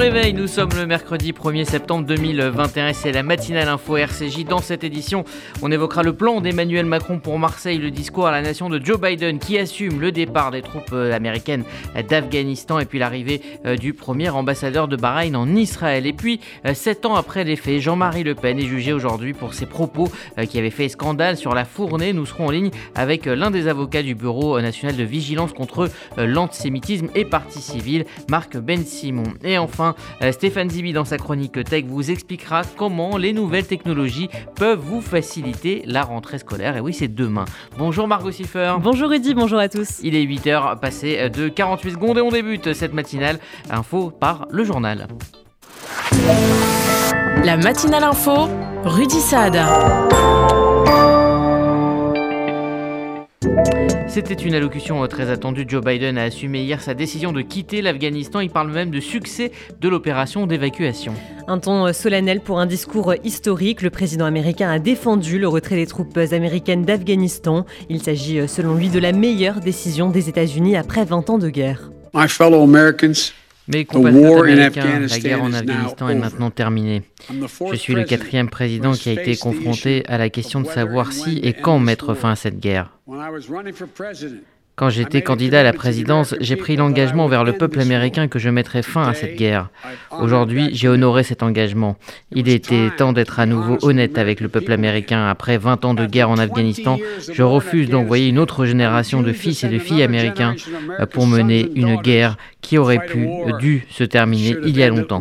réveil, nous sommes le mercredi 1er septembre 2021 et c'est la matinale info RCJ. Dans cette édition, on évoquera le plan d'Emmanuel Macron pour Marseille, le discours à la nation de Joe Biden qui assume le départ des troupes américaines d'Afghanistan et puis l'arrivée du premier ambassadeur de Bahreïn en Israël. Et puis, 7 ans après les faits, Jean-Marie Le Pen est jugé aujourd'hui pour ses propos qui avaient fait scandale sur la Fournée. Nous serons en ligne avec l'un des avocats du Bureau national de vigilance contre l'antisémitisme et partie civile, Marc Ben-Simon. Et enfin, Stéphane Zibi, dans sa chronique Tech, vous expliquera comment les nouvelles technologies peuvent vous faciliter la rentrée scolaire. Et oui, c'est demain. Bonjour Margot Siffer. Bonjour Rudy, bonjour à tous. Il est 8h, passé de 48 secondes et on débute cette matinale info par le journal. La matinale info, Rudy Saad. C'était une allocution très attendue. Joe Biden a assumé hier sa décision de quitter l'Afghanistan. Il parle même de succès de l'opération d'évacuation. Un ton solennel pour un discours historique. Le président américain a défendu le retrait des troupes américaines d'Afghanistan. Il s'agit selon lui de la meilleure décision des États-Unis après 20 ans de guerre. My fellow Americans, Mes compatriotes américains, la guerre en Afghanistan est maintenant terminée. Je suis le 4e président qui a été confronté à la question de savoir si et quand mettre fin à cette guerre. Quand j'étais candidat à la présidence, j'ai pris l'engagement envers le peuple américain que je mettrais fin à cette guerre. Aujourd'hui, j'ai honoré cet engagement. Il était temps d'être à nouveau honnête avec le peuple américain. Après 20 ans de guerre en Afghanistan, je refuse d'envoyer une autre génération de fils et de filles américains pour mener une guerre qui aurait dû se terminer il y a longtemps.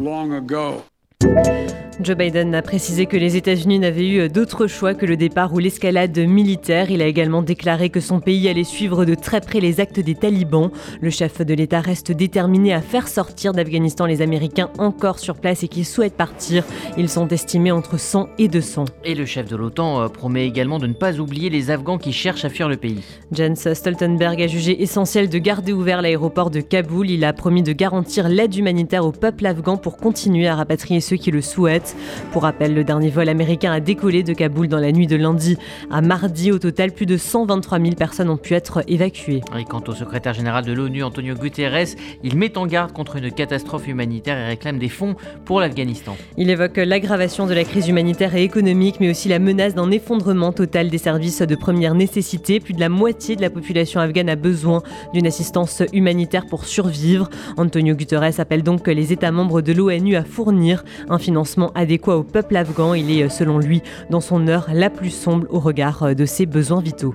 Joe Biden a précisé que les États-Unis n'avaient eu d'autre choix que le départ ou l'escalade militaire. Il a également déclaré que son pays allait suivre de très près les actes des talibans. Le chef de l'État reste déterminé à faire sortir d'Afghanistan les Américains encore sur place et qui souhaitent partir. Ils sont estimés entre 100 et 200. Et le chef de l'OTAN promet également de ne pas oublier les Afghans qui cherchent à fuir le pays. Jens Stoltenberg a jugé essentiel de garder ouvert l'aéroport de Kaboul. Il a promis de garantir l'aide humanitaire au peuple afghan pour continuer à rapatrier ceux qui le souhaitent. Pour rappel, le dernier vol américain a décollé de Kaboul dans la nuit de lundi à mardi. Au total, plus de 123 000 personnes ont pu être évacuées. Et quant au secrétaire général de l'ONU, Antonio Guterres, il met en garde contre une catastrophe humanitaire et réclame des fonds pour l'Afghanistan. Il évoque l'aggravation de la crise humanitaire et économique, mais aussi la menace d'un effondrement total des services de première nécessité. Plus de la moitié de la population afghane a besoin d'une assistance humanitaire pour survivre. Antonio Guterres appelle donc les États membres de l'ONU à fournir un financement adéquat au peuple afghan. Il est, selon lui, dans son heure la plus sombre au regard de ses besoins vitaux.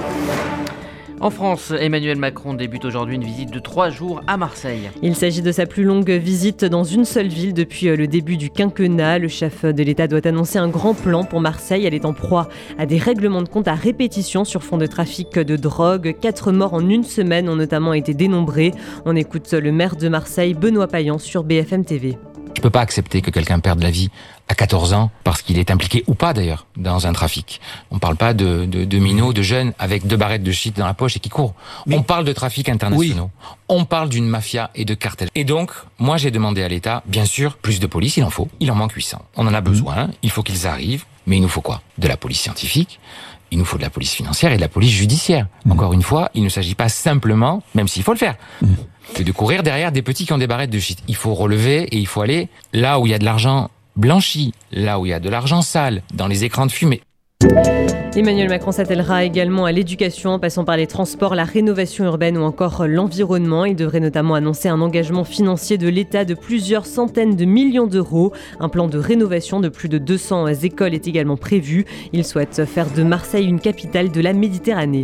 En France, Emmanuel Macron débute aujourd'hui une visite de 3 jours à Marseille. Il s'agit de sa plus longue visite dans une seule ville depuis le début du quinquennat. Le chef de l'État doit annoncer un grand plan pour Marseille. Elle est en proie à des règlements de compte à répétition sur fond de trafic de drogue. 4 morts en une semaine ont notamment été dénombrés. On écoute le maire de Marseille, Benoît Payan, sur BFM TV. Je ne peux pas accepter que quelqu'un perde la vie à 14 ans parce qu'il est impliqué ou pas d'ailleurs dans un trafic. On ne parle pas de minots, de jeunes avec 2 barrettes de shit dans la poche et qui courent. On parle de trafic internationaux. Oui. On parle d'une mafia et de cartels. Et donc, moi j'ai demandé à l'État, bien sûr, plus de police, il en faut. Il en manque 800. On en a besoin, il faut qu'ils arrivent. Mais il nous faut quoi ? De la police scientifique, il nous faut de la police financière et de la police judiciaire. Encore une fois, il ne s'agit pas simplement, même s'il faut le faire, de courir derrière des petits qui ont des barrettes de shit. Il faut relever et il faut aller là où il y a de l'argent blanchi, là où il y a de l'argent sale, dans les écrans de fumée. Emmanuel Macron s'attellera également à l'éducation, en passant par les transports, la rénovation urbaine ou encore l'environnement. Il devrait notamment annoncer un engagement financier de l'État de plusieurs centaines de millions d'euros. Un plan de rénovation de plus de 200 écoles est également prévu. Il souhaite faire de Marseille une capitale de la Méditerranée.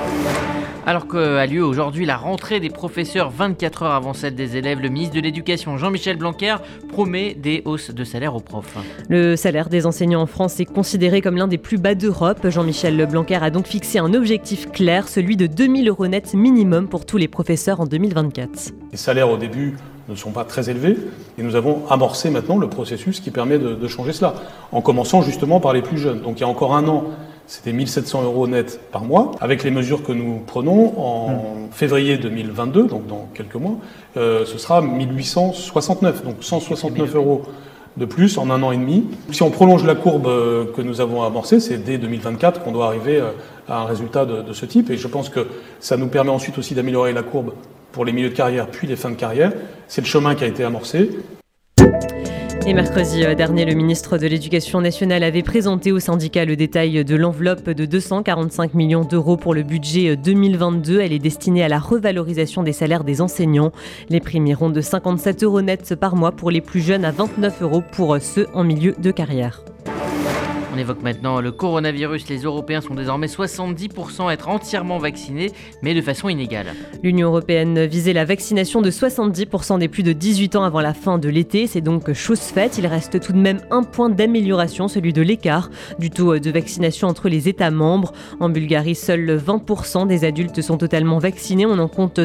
Alors qu'a lieu aujourd'hui la rentrée des professeurs 24 heures avant celle des élèves, le ministre de l'Éducation Jean-Michel Blanquer promet des hausses de salaire aux profs. Le salaire des enseignants en France est considéré comme l'un des plus bas d'Europe. Jean-Michel Blanquer a donc fixé un objectif clair, celui de 2 000 € net minimum pour tous les professeurs en 2024. Les salaires au début ne sont pas très élevés et nous avons amorcé maintenant le processus qui permet de changer cela, en commençant justement par les plus jeunes. Donc il y a encore un an, c'était 1 700 € net par mois. Avec les mesures que nous prenons en février 2022, donc dans quelques mois, ce sera 1 869, donc 169 € de plus en un an et demi. Si on prolonge la courbe que nous avons amorcée, c'est dès 2024 qu'on doit arriver à un résultat de ce type. Et je pense que ça nous permet ensuite aussi d'améliorer la courbe pour les milieux de carrière puis les fins de carrière. C'est le chemin qui a été amorcé. Et mercredi dernier, le ministre de l'Éducation nationale avait présenté au syndicat le détail de l'enveloppe de 245 millions d'euros pour le budget 2022. Elle est destinée à la revalorisation des salaires des enseignants. Les primes iront de 57 € net par mois pour les plus jeunes à 29 € pour ceux en milieu de carrière. On évoque maintenant le coronavirus. Les Européens sont désormais 70% à être entièrement vaccinés, mais de façon inégale. L'Union européenne visait la vaccination de 70% des plus de 18 ans avant la fin de l'été. C'est donc chose faite. Il reste tout de même un point d'amélioration, celui de l'écart du taux de vaccination entre les États membres. En Bulgarie, seuls 20% des adultes sont totalement vaccinés. On en compte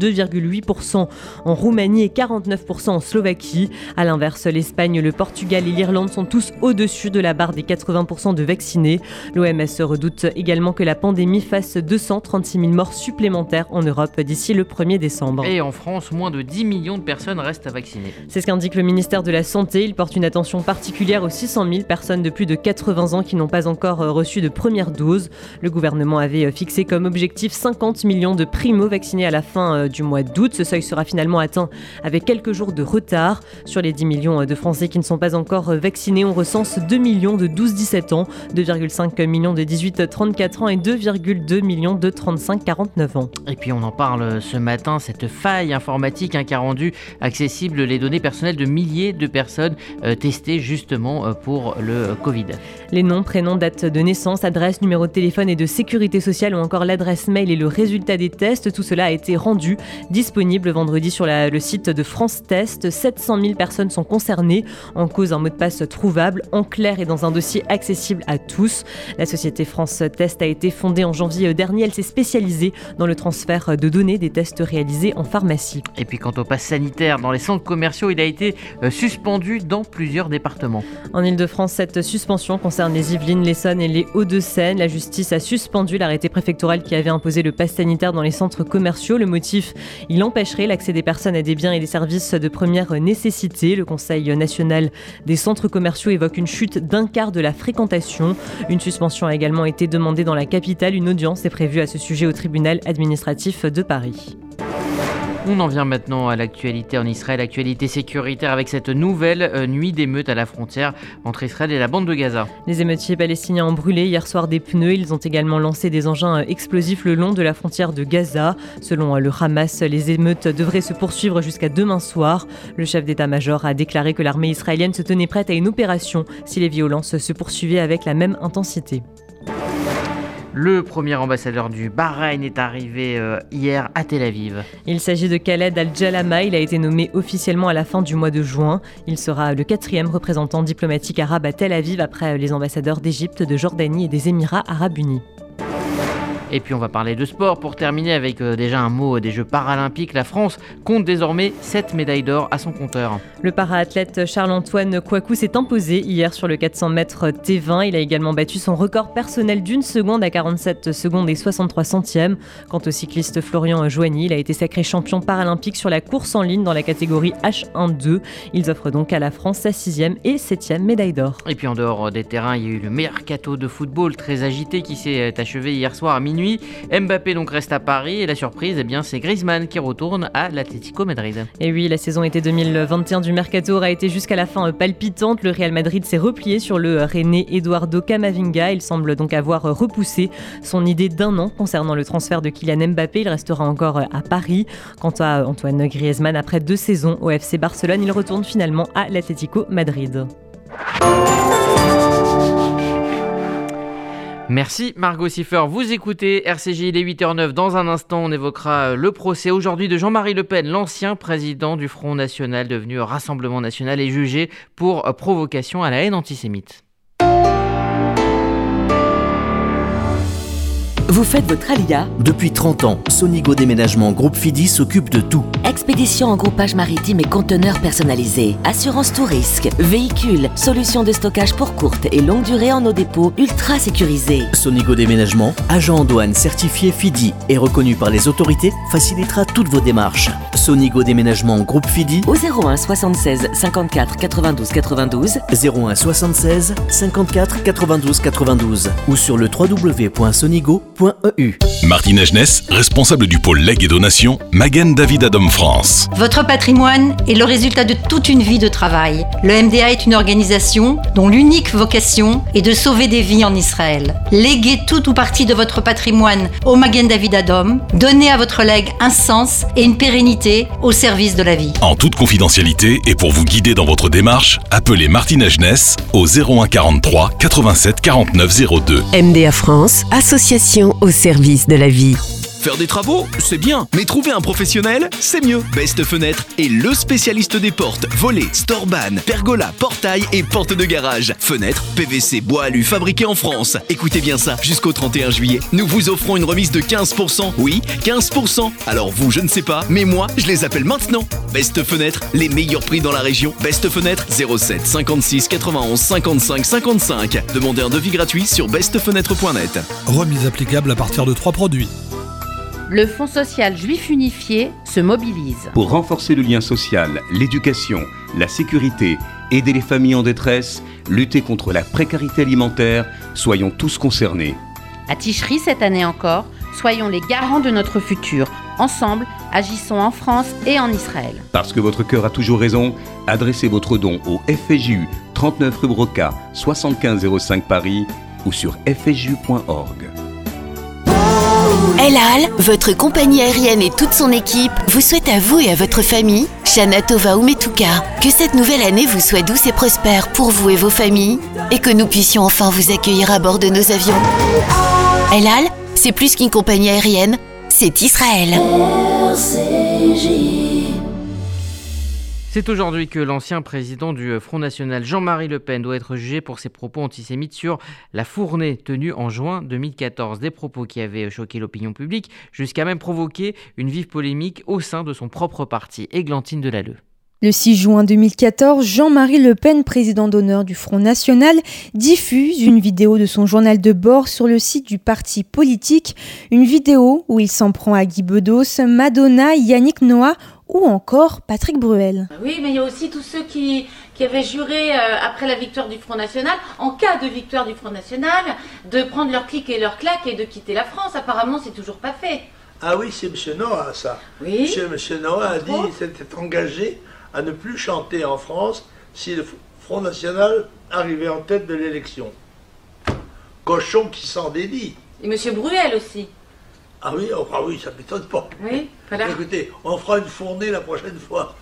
32,8% en Roumanie et 49% en Slovaquie. À l'inverse, l'Espagne, le Portugal et l'Irlande sont tous au-dessus de la barre des 80% de vaccinés. L'OMS redoute également que la pandémie fasse 236 000 morts supplémentaires en Europe d'ici le 1er décembre. Et en France, moins de 10 millions de personnes restent à vacciner. C'est ce qu'indique le ministère de la Santé. Il porte une attention particulière aux 600 000 personnes de plus de 80 ans qui n'ont pas encore reçu de première dose. Le gouvernement avait fixé comme objectif 50 millions de primo-vaccinés à la fin du mois d'août. Ce seuil sera finalement atteint avec quelques jours de retard. Sur les 10 millions de Français qui ne sont pas encore vaccinés, on recense 2 millions de 12-17 ans, 2,5 millions de 18-34 ans et 2,2 millions de 35-49 ans. Et puis on en parle ce matin, cette faille informatique qui a rendu accessibles les données personnelles de milliers de personnes testées justement pour le Covid. Les noms, prénoms, date de naissance, adresse, numéro de téléphone et de sécurité sociale ou encore l'adresse mail et le résultat des tests, tout cela a été rendu disponible vendredi sur le site de France Test. 700 000 personnes sont concernées, en cause un mot de passe trouvable, en clair et dans un dossier accessible à tous. La société France Test a été fondée en janvier dernier. Elle s'est spécialisée dans le transfert de données des tests réalisés en pharmacie. Et puis quant au pass sanitaire dans les centres commerciaux, il a été suspendu dans plusieurs départements. En Ile-de-France, cette suspension concerne les Yvelines, l'Essonne et les Hauts-de-Seine. La justice a suspendu l'arrêté préfectoral qui avait imposé le pass sanitaire dans les centres commerciaux. Le motif, il empêcherait l'accès des personnes à des biens et des services de première nécessité. Le Conseil national des centres commerciaux évoque une chute d'un quart de la fréquentation. Une suspension a également été demandée dans la capitale. Une audience est prévue à ce sujet au tribunal administratif de Paris. On en vient maintenant à l'actualité en Israël, actualité sécuritaire avec cette nouvelle nuit d'émeutes à la frontière entre Israël et la bande de Gaza. Les émeutiers palestiniens ont brûlé hier soir des pneus. Ils ont également lancé des engins explosifs le long de la frontière de Gaza. Selon le Hamas, les émeutes devraient se poursuivre jusqu'à demain soir. Le chef d'état-major a déclaré que l'armée israélienne se tenait prête à une opération si les violences se poursuivaient avec la même intensité. Le premier ambassadeur du Bahreïn est arrivé hier à Tel Aviv. Il s'agit de Khaled Al-Jalama. Il a été nommé officiellement à la fin du mois de juin. Il sera le 4e représentant diplomatique arabe à Tel Aviv après les ambassadeurs d'Égypte, de Jordanie et des Émirats arabes unis. Et puis on va parler de sport pour terminer avec déjà un mot des Jeux paralympiques. La France compte désormais 7 médailles d'or à son compteur. Le para-athlète Charles-Antoine Kouakou s'est imposé hier sur le 400 mètres T20. Il a également battu son record personnel d'une seconde à 47 secondes et 63 centièmes. Quant au cycliste Florian Joigny, il a été sacré champion paralympique sur la course en ligne dans la catégorie H1-2. Ils offrent donc à la France sa 6e et 7e médaille d'or. Et puis en dehors des terrains, il y a eu le mercato de football très agité qui s'est achevé hier soir à minuit. Mbappé donc reste à Paris et la surprise, c'est Griezmann qui retourne à l'Atlético Madrid. Et oui, la saison été 2021 du mercato aura été jusqu'à la fin palpitante. Le Real Madrid s'est replié sur le Rennais Eduardo Camavinga. Il semble donc avoir repoussé son idée d'1 an concernant le transfert de Kylian Mbappé. Il restera encore à Paris. Quant à Antoine Griezmann, après 2 saisons au FC Barcelone, il retourne finalement à l'Atlético Madrid. Merci Margot Siffer, vous écoutez RCJ, il est 8h09. Dans un instant, on évoquera le procès aujourd'hui de Jean-Marie Le Pen, l'ancien président du Front National, devenu Rassemblement National et jugé pour provocation à la haine antisémite. Vous faites votre alia ? Depuis 30 ans, Sonigo Déménagement Groupe Fidi s'occupe de tout. Expédition en groupage maritime et conteneurs personnalisés. Assurance tout risque. Véhicules. Solutions de stockage pour courte et longue durée en nos dépôts ultra sécurisés. Sonigo Déménagement, agent en douane certifié Fidi et reconnu par les autorités, facilitera toutes vos démarches. Sonigo Déménagement Groupe FIDI au 01 76 54 92 92, 01 76 54 92 92 ou sur le www.sonigo.eu. Martine Agenès, responsable du pôle legs et donations, Magen David Adom France. Votre patrimoine est le résultat de toute une vie de travail. Le MDA est une organisation dont l'unique vocation est de sauver des vies en Israël. Léguez tout ou partie de votre patrimoine au Magen David Adom. Donnez à votre legs un sens et une pérennité au service de la vie. En toute confidentialité et pour vous guider dans votre démarche, appelez Martine Agenès au 01 43 87 49 02. MDA France, association au service de la vie. Faire des travaux, c'est bien, mais trouver un professionnel, c'est mieux. Best Fenêtre est le spécialiste des portes, volets, storban, pergola, portail et portes de garage. Fenêtres, PVC, bois alu, fabriqués en France. Écoutez bien ça, jusqu'au 31 juillet, nous vous offrons une remise de 15%. Oui, 15%. Alors vous, je ne sais pas, mais moi, je les appelle maintenant. Best Fenêtre, les meilleurs prix dans la région. Best Fenêtre, 07 56 91 55 55. Demandez un devis gratuit sur bestfenêtre.net. Remise applicable à partir de 3 produits. Le Fonds social juif unifié se mobilise. Pour renforcer le lien social, l'éducation, la sécurité, aider les familles en détresse, lutter contre la précarité alimentaire, soyons tous concernés. À Ticherie cette année encore, soyons les garants de notre futur. Ensemble, agissons en France et en Israël. Parce que votre cœur a toujours raison, adressez votre don au FSJU 39 rue Broca 7505 Paris ou sur fsju.org. El Al, votre compagnie aérienne et toute son équipe vous souhaitent à vous et à votre famille, Shana Tova Umetuka, que cette nouvelle année vous soit douce et prospère pour vous et vos familles et que nous puissions enfin vous accueillir à bord de nos avions. El Al, c'est plus qu'une compagnie aérienne, c'est Israël. C'est aujourd'hui que l'ancien président du Front National, Jean-Marie Le Pen, doit être jugé pour ses propos antisémites sur la Fournée tenue en juin 2014. Des propos qui avaient choqué l'opinion publique, jusqu'à même provoquer une vive polémique au sein de son propre parti. Églantine Delalleux. Le 6 juin 2014, Jean-Marie Le Pen, président d'honneur du Front National, diffuse une vidéo de son journal de bord sur le site du parti politique. Une vidéo où il s'en prend à Guy Bedos, Madonna, Yannick Noah ou encore Patrick Bruel. Oui, mais il y a aussi tous ceux qui avaient juré, après la victoire du Front National, en cas de victoire du Front National, de prendre leur clic et leur claque et de quitter la France. Apparemment, c'est toujours pas fait. Ah oui, c'est M. Noah, ça. Oui. M. Noah a dit qu'il s'était engagé à ne plus chanter en France si le Front National arrivait en tête de l'élection. Cochon qui s'en dédie. Et M. Bruel aussi. Ah oui, ça ne m'étonne pas. Oui, voilà. Écoutez, on fera une fournée la prochaine fois.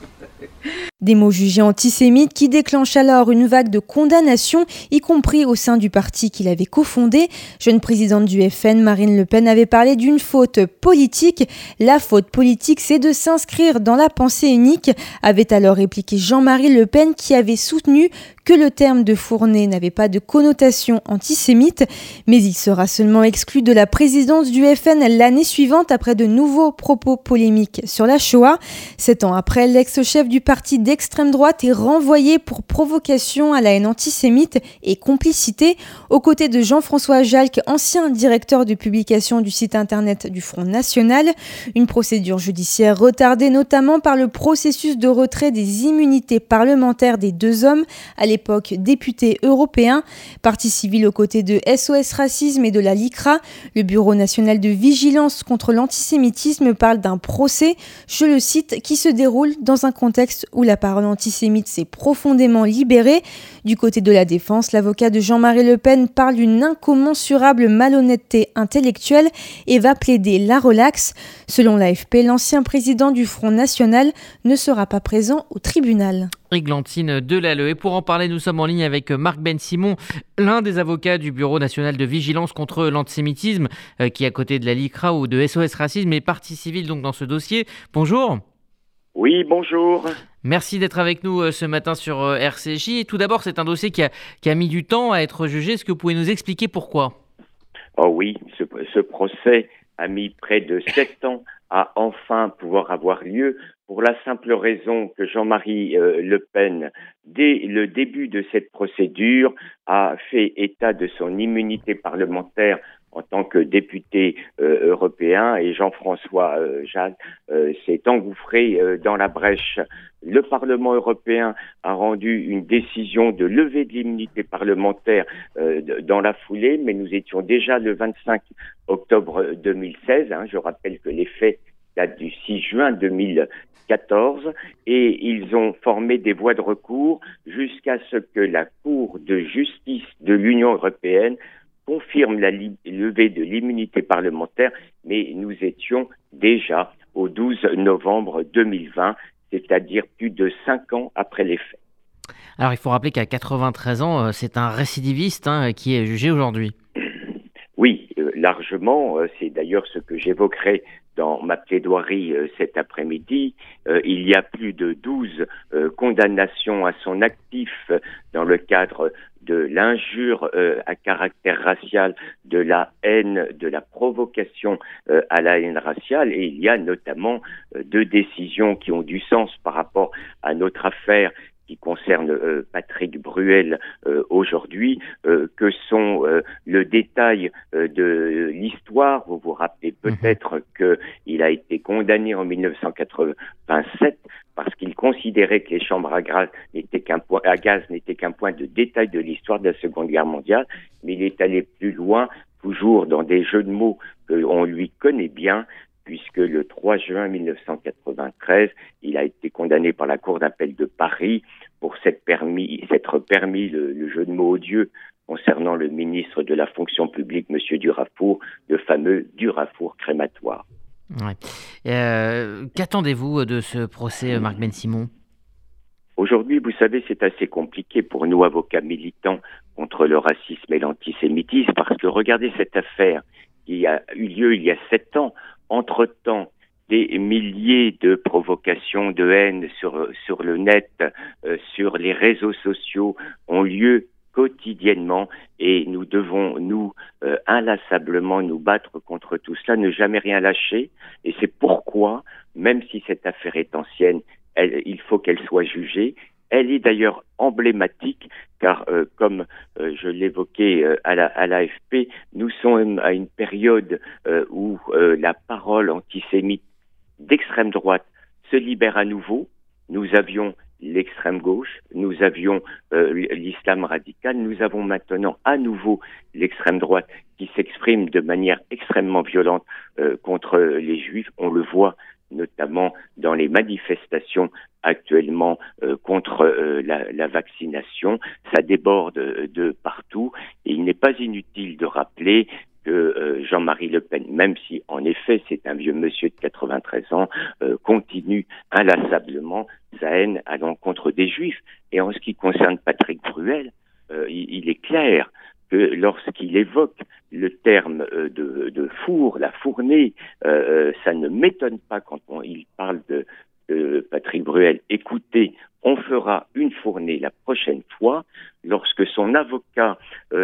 Des mots jugés antisémites qui déclenchent alors une vague de condamnation, y compris au sein du parti qu'il avait cofondé. Jeune présidente du FN, Marine Le Pen avait parlé d'une faute politique. La faute politique, c'est de s'inscrire dans la pensée unique, avait alors répliqué Jean-Marie Le Pen, qui avait soutenu que le terme de fournée n'avait pas de connotation antisémite, mais il sera seulement exclu de la présidence du FN l'année suivante après de nouveaux propos polémiques sur la Shoah. 7 ans après, l'ex-chef du parti d'extrême droite est renvoyé pour provocation à la haine antisémite et complicité, aux côtés de Jean-François Jalc, ancien directeur de publication du site internet du Front National. Une procédure judiciaire retardée notamment par le processus de retrait des immunités parlementaires des deux hommes, à l'époque députés européens. Partie civile aux côtés de SOS Racisme et de la LICRA. Le Bureau national de vigilance contre l'antisémitisme parle d'un procès, je le cite, qui se déroule dans un contexte où la parole antisémite s'est profondément libérée. Du côté de la défense, l'avocat de Jean-Marie Le Pen parle d'une incommensurable malhonnêteté intellectuelle et va plaider la relaxe. Selon l'AFP, l'ancien président du Front National ne sera pas présent au tribunal. Églantine Delalleux. Et pour en parler, nous sommes en ligne avec Marc Ben-Simon, l'un des avocats du Bureau national de vigilance contre l'antisémitisme, qui, à côté de la LICRA ou de SOS Racisme, est partie civile donc dans ce dossier. Bonjour. Oui, bonjour. Merci d'être avec nous ce matin sur RCJ. Et tout d'abord, c'est un dossier qui a mis du temps à être jugé. Est-ce que vous pouvez nous expliquer pourquoi ? Oh oui, ce procès a mis près de 7 ans à enfin pouvoir avoir lieu, pour la simple raison que Jean-Marie Le Pen, dès le début de cette procédure, a fait état de son immunité parlementaire en tant que député européen, et Jean-François Jacques s'est engouffré dans la brèche. Le Parlement européen a rendu une décision de levée de l'immunité parlementaire dans la foulée, mais nous étions déjà le 25 octobre 2016. Je rappelle que les faits datent du 6 juin 2014, et ils ont formé des voies de recours jusqu'à ce que la Cour de justice de l'Union européenne confirme la levée de l'immunité parlementaire, mais nous étions déjà au 12 novembre 2020, c'est-à-dire plus de 5 ans après les faits. Alors il faut rappeler qu'à 93 ans, c'est un récidiviste qui est jugé aujourd'hui. Oui, largement. C'est d'ailleurs ce que j'évoquerai dans ma plaidoirie cet après-midi. Il y a plus de 12 condamnations à son actif dans le cadre de l'injure à caractère racial, de la haine, de la provocation à la haine raciale. Et il y a notamment 2 décisions qui ont du sens par rapport à notre affaire qui concerne Patrick Bruel aujourd'hui, que sont le détail de l'histoire. Vous vous rappelez peut-être qu'il a été condamné en 1987 parce qu'il considérait que les chambres à gaz n'étaient qu'un point de détail de l'histoire de la Seconde Guerre mondiale, mais il est allé plus loin, toujours dans des jeux de mots qu'on lui connaît bien, puisque le 3 juin 1993, il a été condamné par la Cour d'appel de Paris pour s'être permis le jeu de mots odieux concernant le ministre de la fonction publique, M. Durafour, le fameux Durafour crématoire. Ouais. Qu'attendez-vous de ce procès, Marc Ben-Simon ? Aujourd'hui, vous savez, c'est assez compliqué pour nous, avocats militants contre le racisme et l'antisémitisme, parce que regardez cette affaire qui a eu lieu il y a 7 ans. Entre-temps, des milliers de provocations de haine sur le net, sur les réseaux sociaux ont lieu quotidiennement, et nous devons, inlassablement nous battre contre tout cela, ne jamais rien lâcher. Et c'est pourquoi, même si cette affaire est ancienne, il faut qu'elle soit jugée. Elle est d'ailleurs emblématique, car comme je l'évoquais à l'AFP, nous sommes à une période où la parole antisémite d'extrême droite se libère à nouveau. Nous avions l'extrême gauche, nous avions l'islam radical, nous avons maintenant à nouveau l'extrême droite qui s'exprime de manière extrêmement violente contre les juifs. On le voit notamment dans les manifestations actuellement contre la vaccination. Ça déborde de partout, et il n'est pas inutile de rappeler que Jean-Marie Le Pen, même si en effet c'est un vieux monsieur de 93 ans, continue inlassablement sa haine à l'encontre des Juifs. Et en ce qui concerne Patrick Bruel, il est clair que lorsqu'il évoque le terme de four, la fournée, ça ne m'étonne pas quand il parle de Patrick Bruel. Écoutez, on fera une fournée la prochaine fois. Lorsque son avocat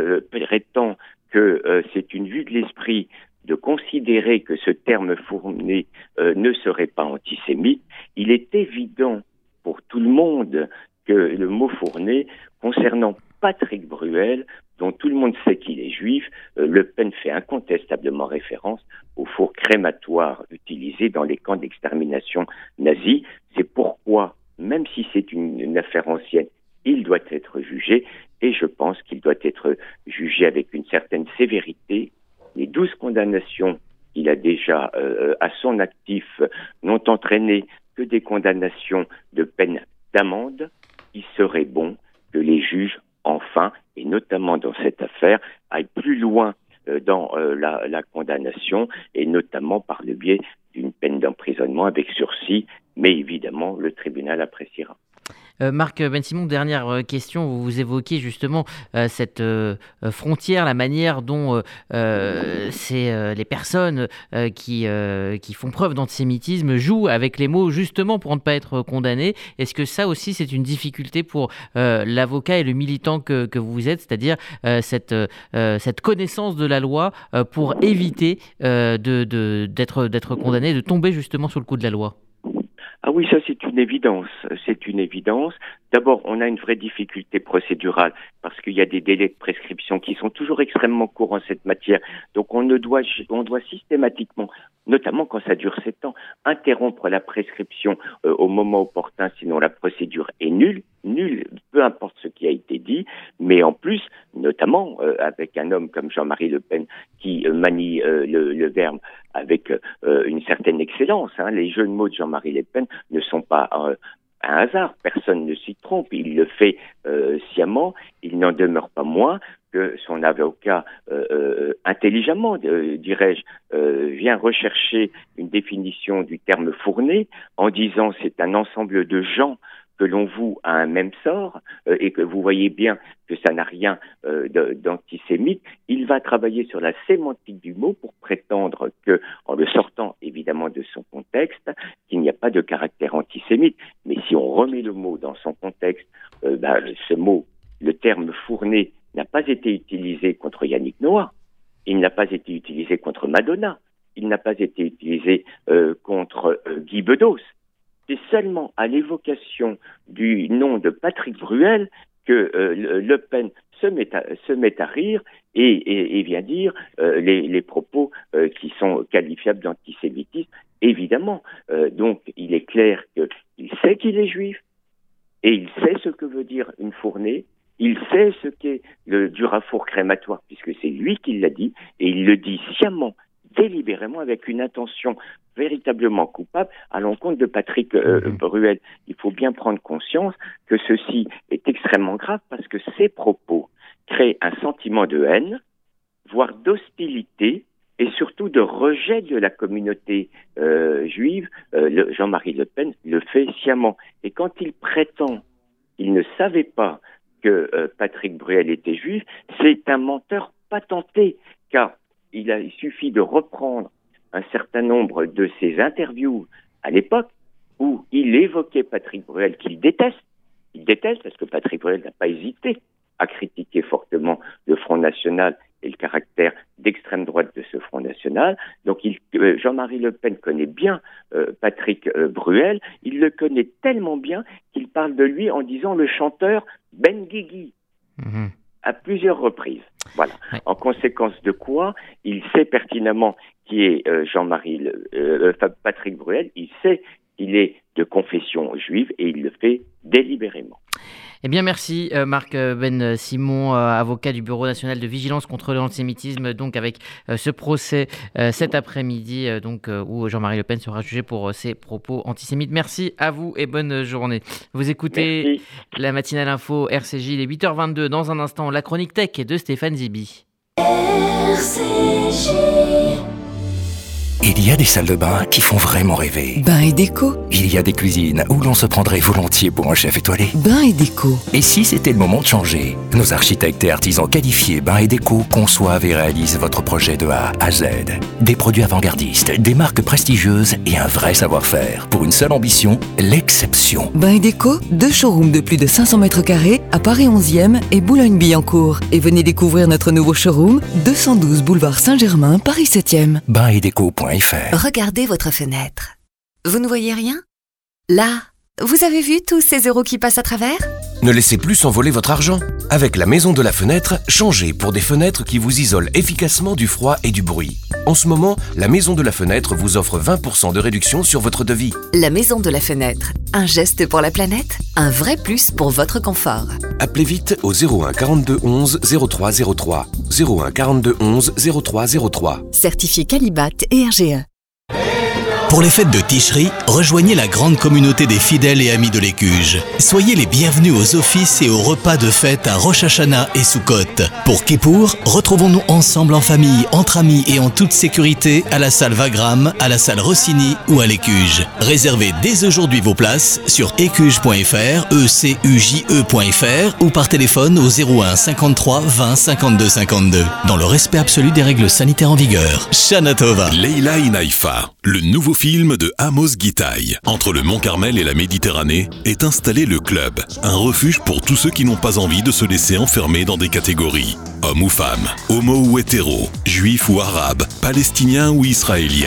prétend que c'est une vue de l'esprit de considérer que ce terme fournée ne serait pas antisémite, il est évident pour tout le monde que le mot fournée concernant Patrick Bruel, dont tout le monde sait qu'il est juif, Le Pen fait incontestablement référence au four crématoire utilisé dans les camps d'extermination nazis. C'est pourquoi, même si c'est une affaire ancienne, il doit être jugé, et je pense qu'il doit être jugé avec une certaine sévérité. Les 12 condamnations qu'il a déjà à son actif n'ont entraîné que des condamnations de peine d'amende. Il serait bon que les juges, enfin, et notamment dans cette affaire, aillent plus loin dans la condamnation, et notamment par le biais d'une peine d'emprisonnement avec sursis, mais évidemment le tribunal appréciera. Marc Ben-Simon, dernière question, vous évoquez justement cette frontière, la manière dont les personnes qui font preuve d'antisémitisme jouent avec les mots justement pour ne pas être condamnées. Est-ce que ça aussi c'est une difficulté pour l'avocat et le militant que vous êtes, c'est-à-dire cette connaissance de la loi pour éviter d'être condamné, de tomber justement sous le coup de la loi ? Ah oui, ça c'est une évidence. C'est une évidence. D'abord, on a une vraie difficulté procédurale parce qu'il y a des délais de prescription qui sont toujours extrêmement courts en cette matière. Donc on doit systématiquement, notamment quand ça dure 7 ans, interrompre la prescription au moment opportun, sinon la procédure est nulle, peu importe ce qui a été dit. Mais en plus, notamment avec un homme comme Jean-Marie Le Pen qui manie le verbe avec une certaine excellence. Les jeux de mots de Jean-Marie Le Pen ne sont pas un hasard, personne ne s'y trompe, il le fait sciemment, il n'en demeure pas moins que son avocat, intelligemment, dirais-je, vient rechercher une définition du terme fourné en disant c'est un ensemble de gens que l'on voue à un même sort, et que vous voyez bien que ça n'a rien d'antisémite. Il va travailler sur la sémantique du mot pour prétendre que, en le sortant évidemment de son contexte, qu'il n'y a pas de caractère antisémite. Mais si on remet le mot dans son contexte, ce mot, le terme fourné, n'a pas été utilisé contre Yannick Noah, il n'a pas été utilisé contre Madonna, il n'a pas été utilisé contre Guy Bedos. C'est seulement à l'évocation du nom de Patrick Bruel que Le Pen se met à rire et vient dire les propos qui sont qualifiables d'antisémitisme. Évidemment, donc il est clair qu'il sait qu'il est juif et il sait ce que veut dire une fournée. Il sait ce qu'est le durafour crématoire puisque c'est lui qui l'a dit et il le dit sciemment, délibérément, avec une intention véritablement coupable à l'encontre de Patrick Bruel. Il faut bien prendre conscience que ceci est extrêmement grave parce que ces propos créent un sentiment de haine, voire d'hostilité et surtout de rejet de la communauté juive. Jean-Marie Le Pen le fait sciemment. Et quand il prétend qu'il ne savait pas que Patrick Bruel était juif, c'est un menteur patenté, car il suffit de reprendre un certain nombre de ses interviews à l'époque où il évoquait Patrick Bruel qu'il déteste. Il déteste parce que Patrick Bruel n'a pas hésité à critiquer fortement le Front National et le caractère d'extrême droite de ce Front National. Donc Jean-Marie Le Pen connaît bien Patrick Bruel. Il le connaît tellement bien qu'il parle de lui en disant le chanteur Ben Guigui à plusieurs reprises. Voilà. Ouais. En conséquence de quoi, il sait pertinemment qui est Patrick Bruel. Il sait qu'il est de confession juive et il le fait délibérément. Eh bien, merci Marc Ben Simon, avocat du Bureau national de vigilance contre l'antisémitisme, donc avec ce procès cet après-midi, où Jean-Marie Le Pen sera jugé pour ses propos antisémites. Merci à vous et bonne journée. Vous écoutez la matinale info RCJ, il est 8h22. Dans un instant, la chronique tech de Stéphane Zibi. RCJ. Il y a des salles de bain qui font vraiment rêver. Bain et déco. Il y a des cuisines où l'on se prendrait volontiers pour un chef étoilé. Bain et déco. Et si c'était le moment de changer? Nos architectes et artisans qualifiés Bain et déco conçoivent et réalisent votre projet de A à Z. Des produits avant-gardistes, des marques prestigieuses et un vrai savoir-faire. Pour une seule ambition, l'exception. Bain et déco, 2 showrooms de plus de 500 mètres carrés à Paris 11e et Boulogne-Billancourt. Et venez découvrir notre nouveau showroom, 212 boulevard Saint-Germain, Paris 7e. Bainetdeco.fr. Regardez votre fenêtre. Vous ne voyez rien? Là, vous avez vu tous ces euros qui passent à travers? Ne laissez plus s'envoler votre argent. Avec la Maison de la Fenêtre, changez pour des fenêtres qui vous isolent efficacement du froid et du bruit. En ce moment, la Maison de la Fenêtre vous offre 20% de réduction sur votre devis. La Maison de la Fenêtre. Un geste pour la planète, un vrai plus pour votre confort. Appelez vite au 01 42 11 03 03. 01 42 11 03 03. Certifié Qualibat et RGE. Pour les fêtes de Ticherie, rejoignez la grande communauté des fidèles et amis de l'Écuge. Soyez les bienvenus aux offices et aux repas de fête à Rosh Hashanah et Sukkot. Pour Kippour, retrouvons-nous ensemble en famille, entre amis et en toute sécurité à la salle Wagram, à la salle Rossini ou à l'Écuge. Réservez dès aujourd'hui vos places sur écuge.fr, ecuje.fr ou par téléphone au 01 53 20 52 52. Dans le respect absolu des règles sanitaires en vigueur. Shana Tova. Leila Inaifa, le nouveau film de Amos Gitaï. Entre le Mont-Carmel et la Méditerranée est installé le Club, un refuge pour tous ceux qui n'ont pas envie de se laisser enfermer dans des catégories. Homme ou femme, homo ou hétéro, juif ou arabe, palestinien ou israélien.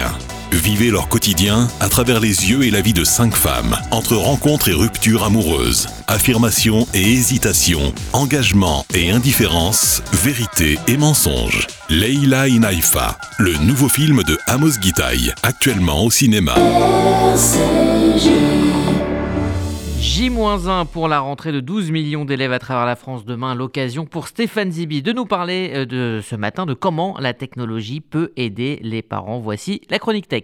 Vivez leur quotidien à travers les yeux et la vie de 5 femmes, entre rencontres et ruptures amoureuses, affirmation et hésitation, engagement et indifférence, vérité et mensonge. Leila in Haïfa, le nouveau film de Amos Gitaï, actuellement au cinéma. J-1 pour la rentrée de 12 millions d'élèves à travers la France demain. L'occasion pour Stéphane Zibi de nous parler de ce matin de comment la technologie peut aider les parents. Voici la chronique tech.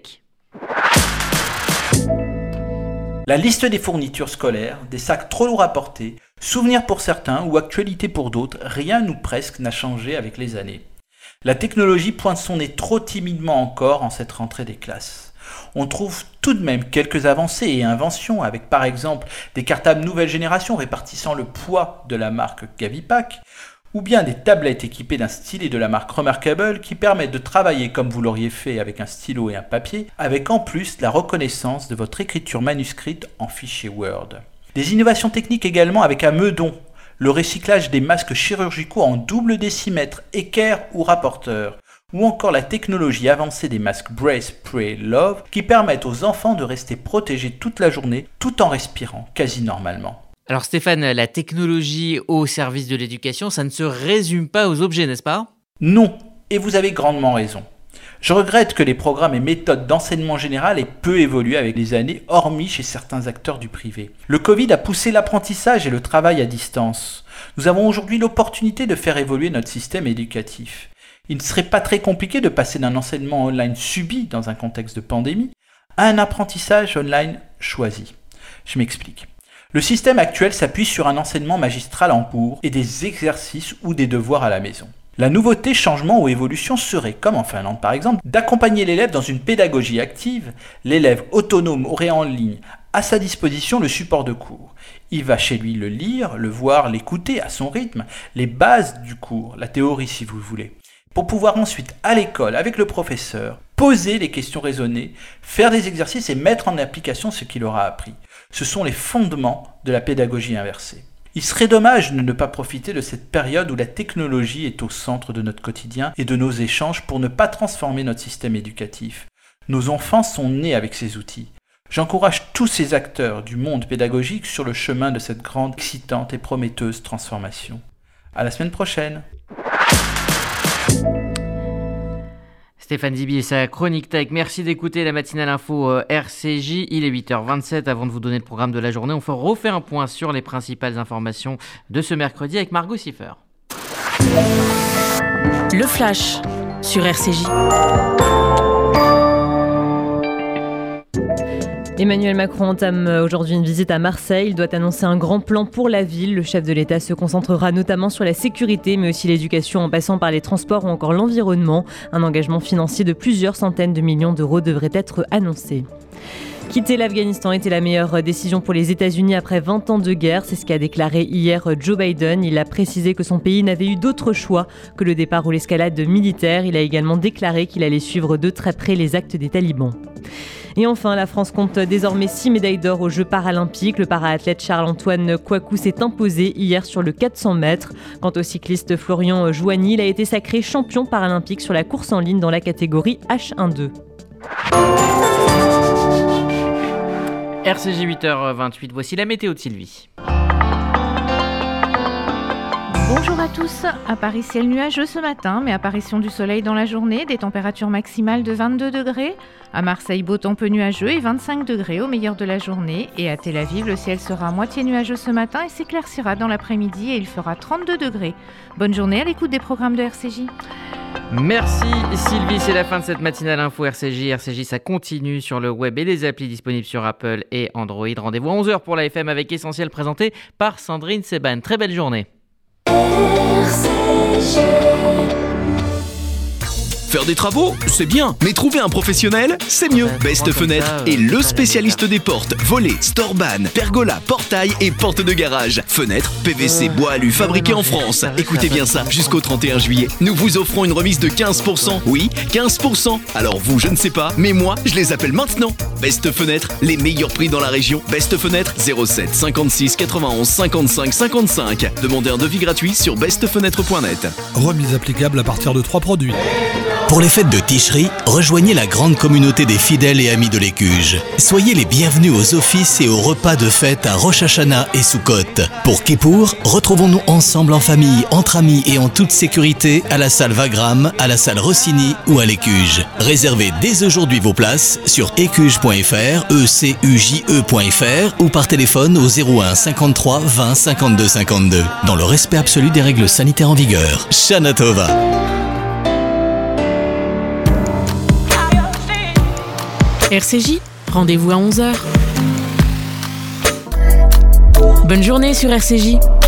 La liste des fournitures scolaires, des sacs trop lourds à porter, souvenirs pour certains ou actualité pour d'autres, rien ou presque n'a changé avec les années. La technologie pointe son nez trop timidement encore en cette rentrée des classes. On trouve tout de même quelques avancées et inventions avec par exemple des cartables nouvelle génération répartissant le poids de la marque Gavipack ou bien des tablettes équipées d'un stylet de la marque Remarkable qui permettent de travailler comme vous l'auriez fait avec un stylo et un papier avec en plus la reconnaissance de votre écriture manuscrite en fichier Word. Des innovations techniques également avec un meudon, le recyclage des masques chirurgicaux en double décimètre, équerre ou rapporteur, ou encore la technologie avancée des masques Brace, Pray, Love qui permettent aux enfants de rester protégés toute la journée tout en respirant quasi normalement. Alors Stéphane, la technologie au service de l'éducation, ça ne se résume pas aux objets, n'est-ce pas ? Non, et vous avez grandement raison. Je regrette que les programmes et méthodes d'enseignement général aient peu évolué avec les années, hormis chez certains acteurs du privé. Le Covid a poussé l'apprentissage et le travail à distance. Nous avons aujourd'hui l'opportunité de faire évoluer notre système éducatif. Il ne serait pas très compliqué de passer d'un enseignement online subi dans un contexte de pandémie à un apprentissage online choisi. Je m'explique. Le système actuel s'appuie sur un enseignement magistral en cours et des exercices ou des devoirs à la maison. La nouveauté, changement ou évolution serait, comme en Finlande par exemple, d'accompagner l'élève dans une pédagogie active. L'élève autonome aurait en ligne à sa disposition le support de cours. Il va chez lui le lire, le voir, l'écouter à son rythme, les bases du cours, la théorie si vous voulez, pour pouvoir ensuite, à l'école, avec le professeur, poser les questions raisonnées, faire des exercices et mettre en application ce qu'il aura appris. Ce sont les fondements de la pédagogie inversée. Il serait dommage de ne pas profiter de cette période où la technologie est au centre de notre quotidien et de nos échanges pour ne pas transformer notre système éducatif. Nos enfants sont nés avec ces outils. J'encourage tous ces acteurs du monde pédagogique sur le chemin de cette grande, excitante et prometteuse transformation. À la semaine prochaine. Stéphane Zibi et sa chronique tech. Merci d'écouter la matinale info RCJ. Il est 8h27. Avant de vous donner le programme de la journée, on refait un point sur les principales informations de ce mercredi avec Margot Siffer. Le Flash sur RCJ. Emmanuel Macron entame aujourd'hui une visite à Marseille. Il doit annoncer un grand plan pour la ville. Le chef de l'État se concentrera notamment sur la sécurité, mais aussi l'éducation en passant par les transports ou encore l'environnement. Un engagement financier de plusieurs centaines de millions d'euros devrait être annoncé. Quitter l'Afghanistan était la meilleure décision pour les États-Unis après 20 ans de guerre. C'est ce qu'a déclaré hier Joe Biden. Il a précisé que son pays n'avait eu d'autre choix que le départ ou l'escalade militaire. Il a également déclaré qu'il allait suivre de très près les actes des talibans. Et enfin, la France compte désormais 6 médailles d'or aux Jeux paralympiques. Le para-athlète Charles-Antoine Kouakou s'est imposé hier sur le 400 mètres. Quant au cycliste Florian Jouani, il a été sacré champion paralympique sur la course en ligne dans la catégorie H1-2. RCJ 8h28, voici la météo de Sylvie. Bonjour à tous, à Paris ciel nuageux ce matin, mais apparition du soleil dans la journée, des températures maximales de 22 degrés. À Marseille, beau temps peu nuageux et 25 degrés au meilleur de la journée. Et à Tel Aviv, le ciel sera moitié nuageux ce matin et s'éclaircira dans l'après-midi et il fera 32 degrés. Bonne journée à l'écoute des programmes de RCJ. Merci Sylvie, c'est la fin de cette matinale info RCJ. RCJ, ça continue sur le web et les applis disponibles sur Apple et Android. Rendez-vous à 11h pour la FM avec Essentiel présenté par Sandrine Seban. Très belle journée. Faire des travaux, c'est bien, mais trouver un professionnel, c'est mieux. Best Fenêtre est le spécialiste des portes, volets, storban, pergola, portail et portes de garage. Fenêtres, PVC, bois alu, fabriqués en France. Écoutez bien ça, jusqu'au 31 juillet, nous vous offrons une remise de 15%. Oui, 15%. Alors vous, je ne sais pas, mais moi, je les appelle maintenant. Best Fenêtre, les meilleurs prix dans la région. Best Fenêtre, 07 56 91 55 55. Demandez un devis gratuit sur bestfenêtre.net. Remise applicable à partir de 3 produits. Pour les fêtes de Ticherie, rejoignez la grande communauté des fidèles et amis de l'Écuge. Soyez les bienvenus aux offices et aux repas de fête à Rosh Hashanah et Sukkot. Pour Kippour, retrouvons-nous ensemble en famille, entre amis et en toute sécurité à la salle Wagram, à la salle Rossini ou à l'Écuge. Réservez dès aujourd'hui vos places sur écuge.fr, ecuje.fr ou par téléphone au 01 53 20 52 52. Dans le respect absolu des règles sanitaires en vigueur. Shana Tova. RCJ, rendez-vous à 11h. Bonne journée sur RCJ.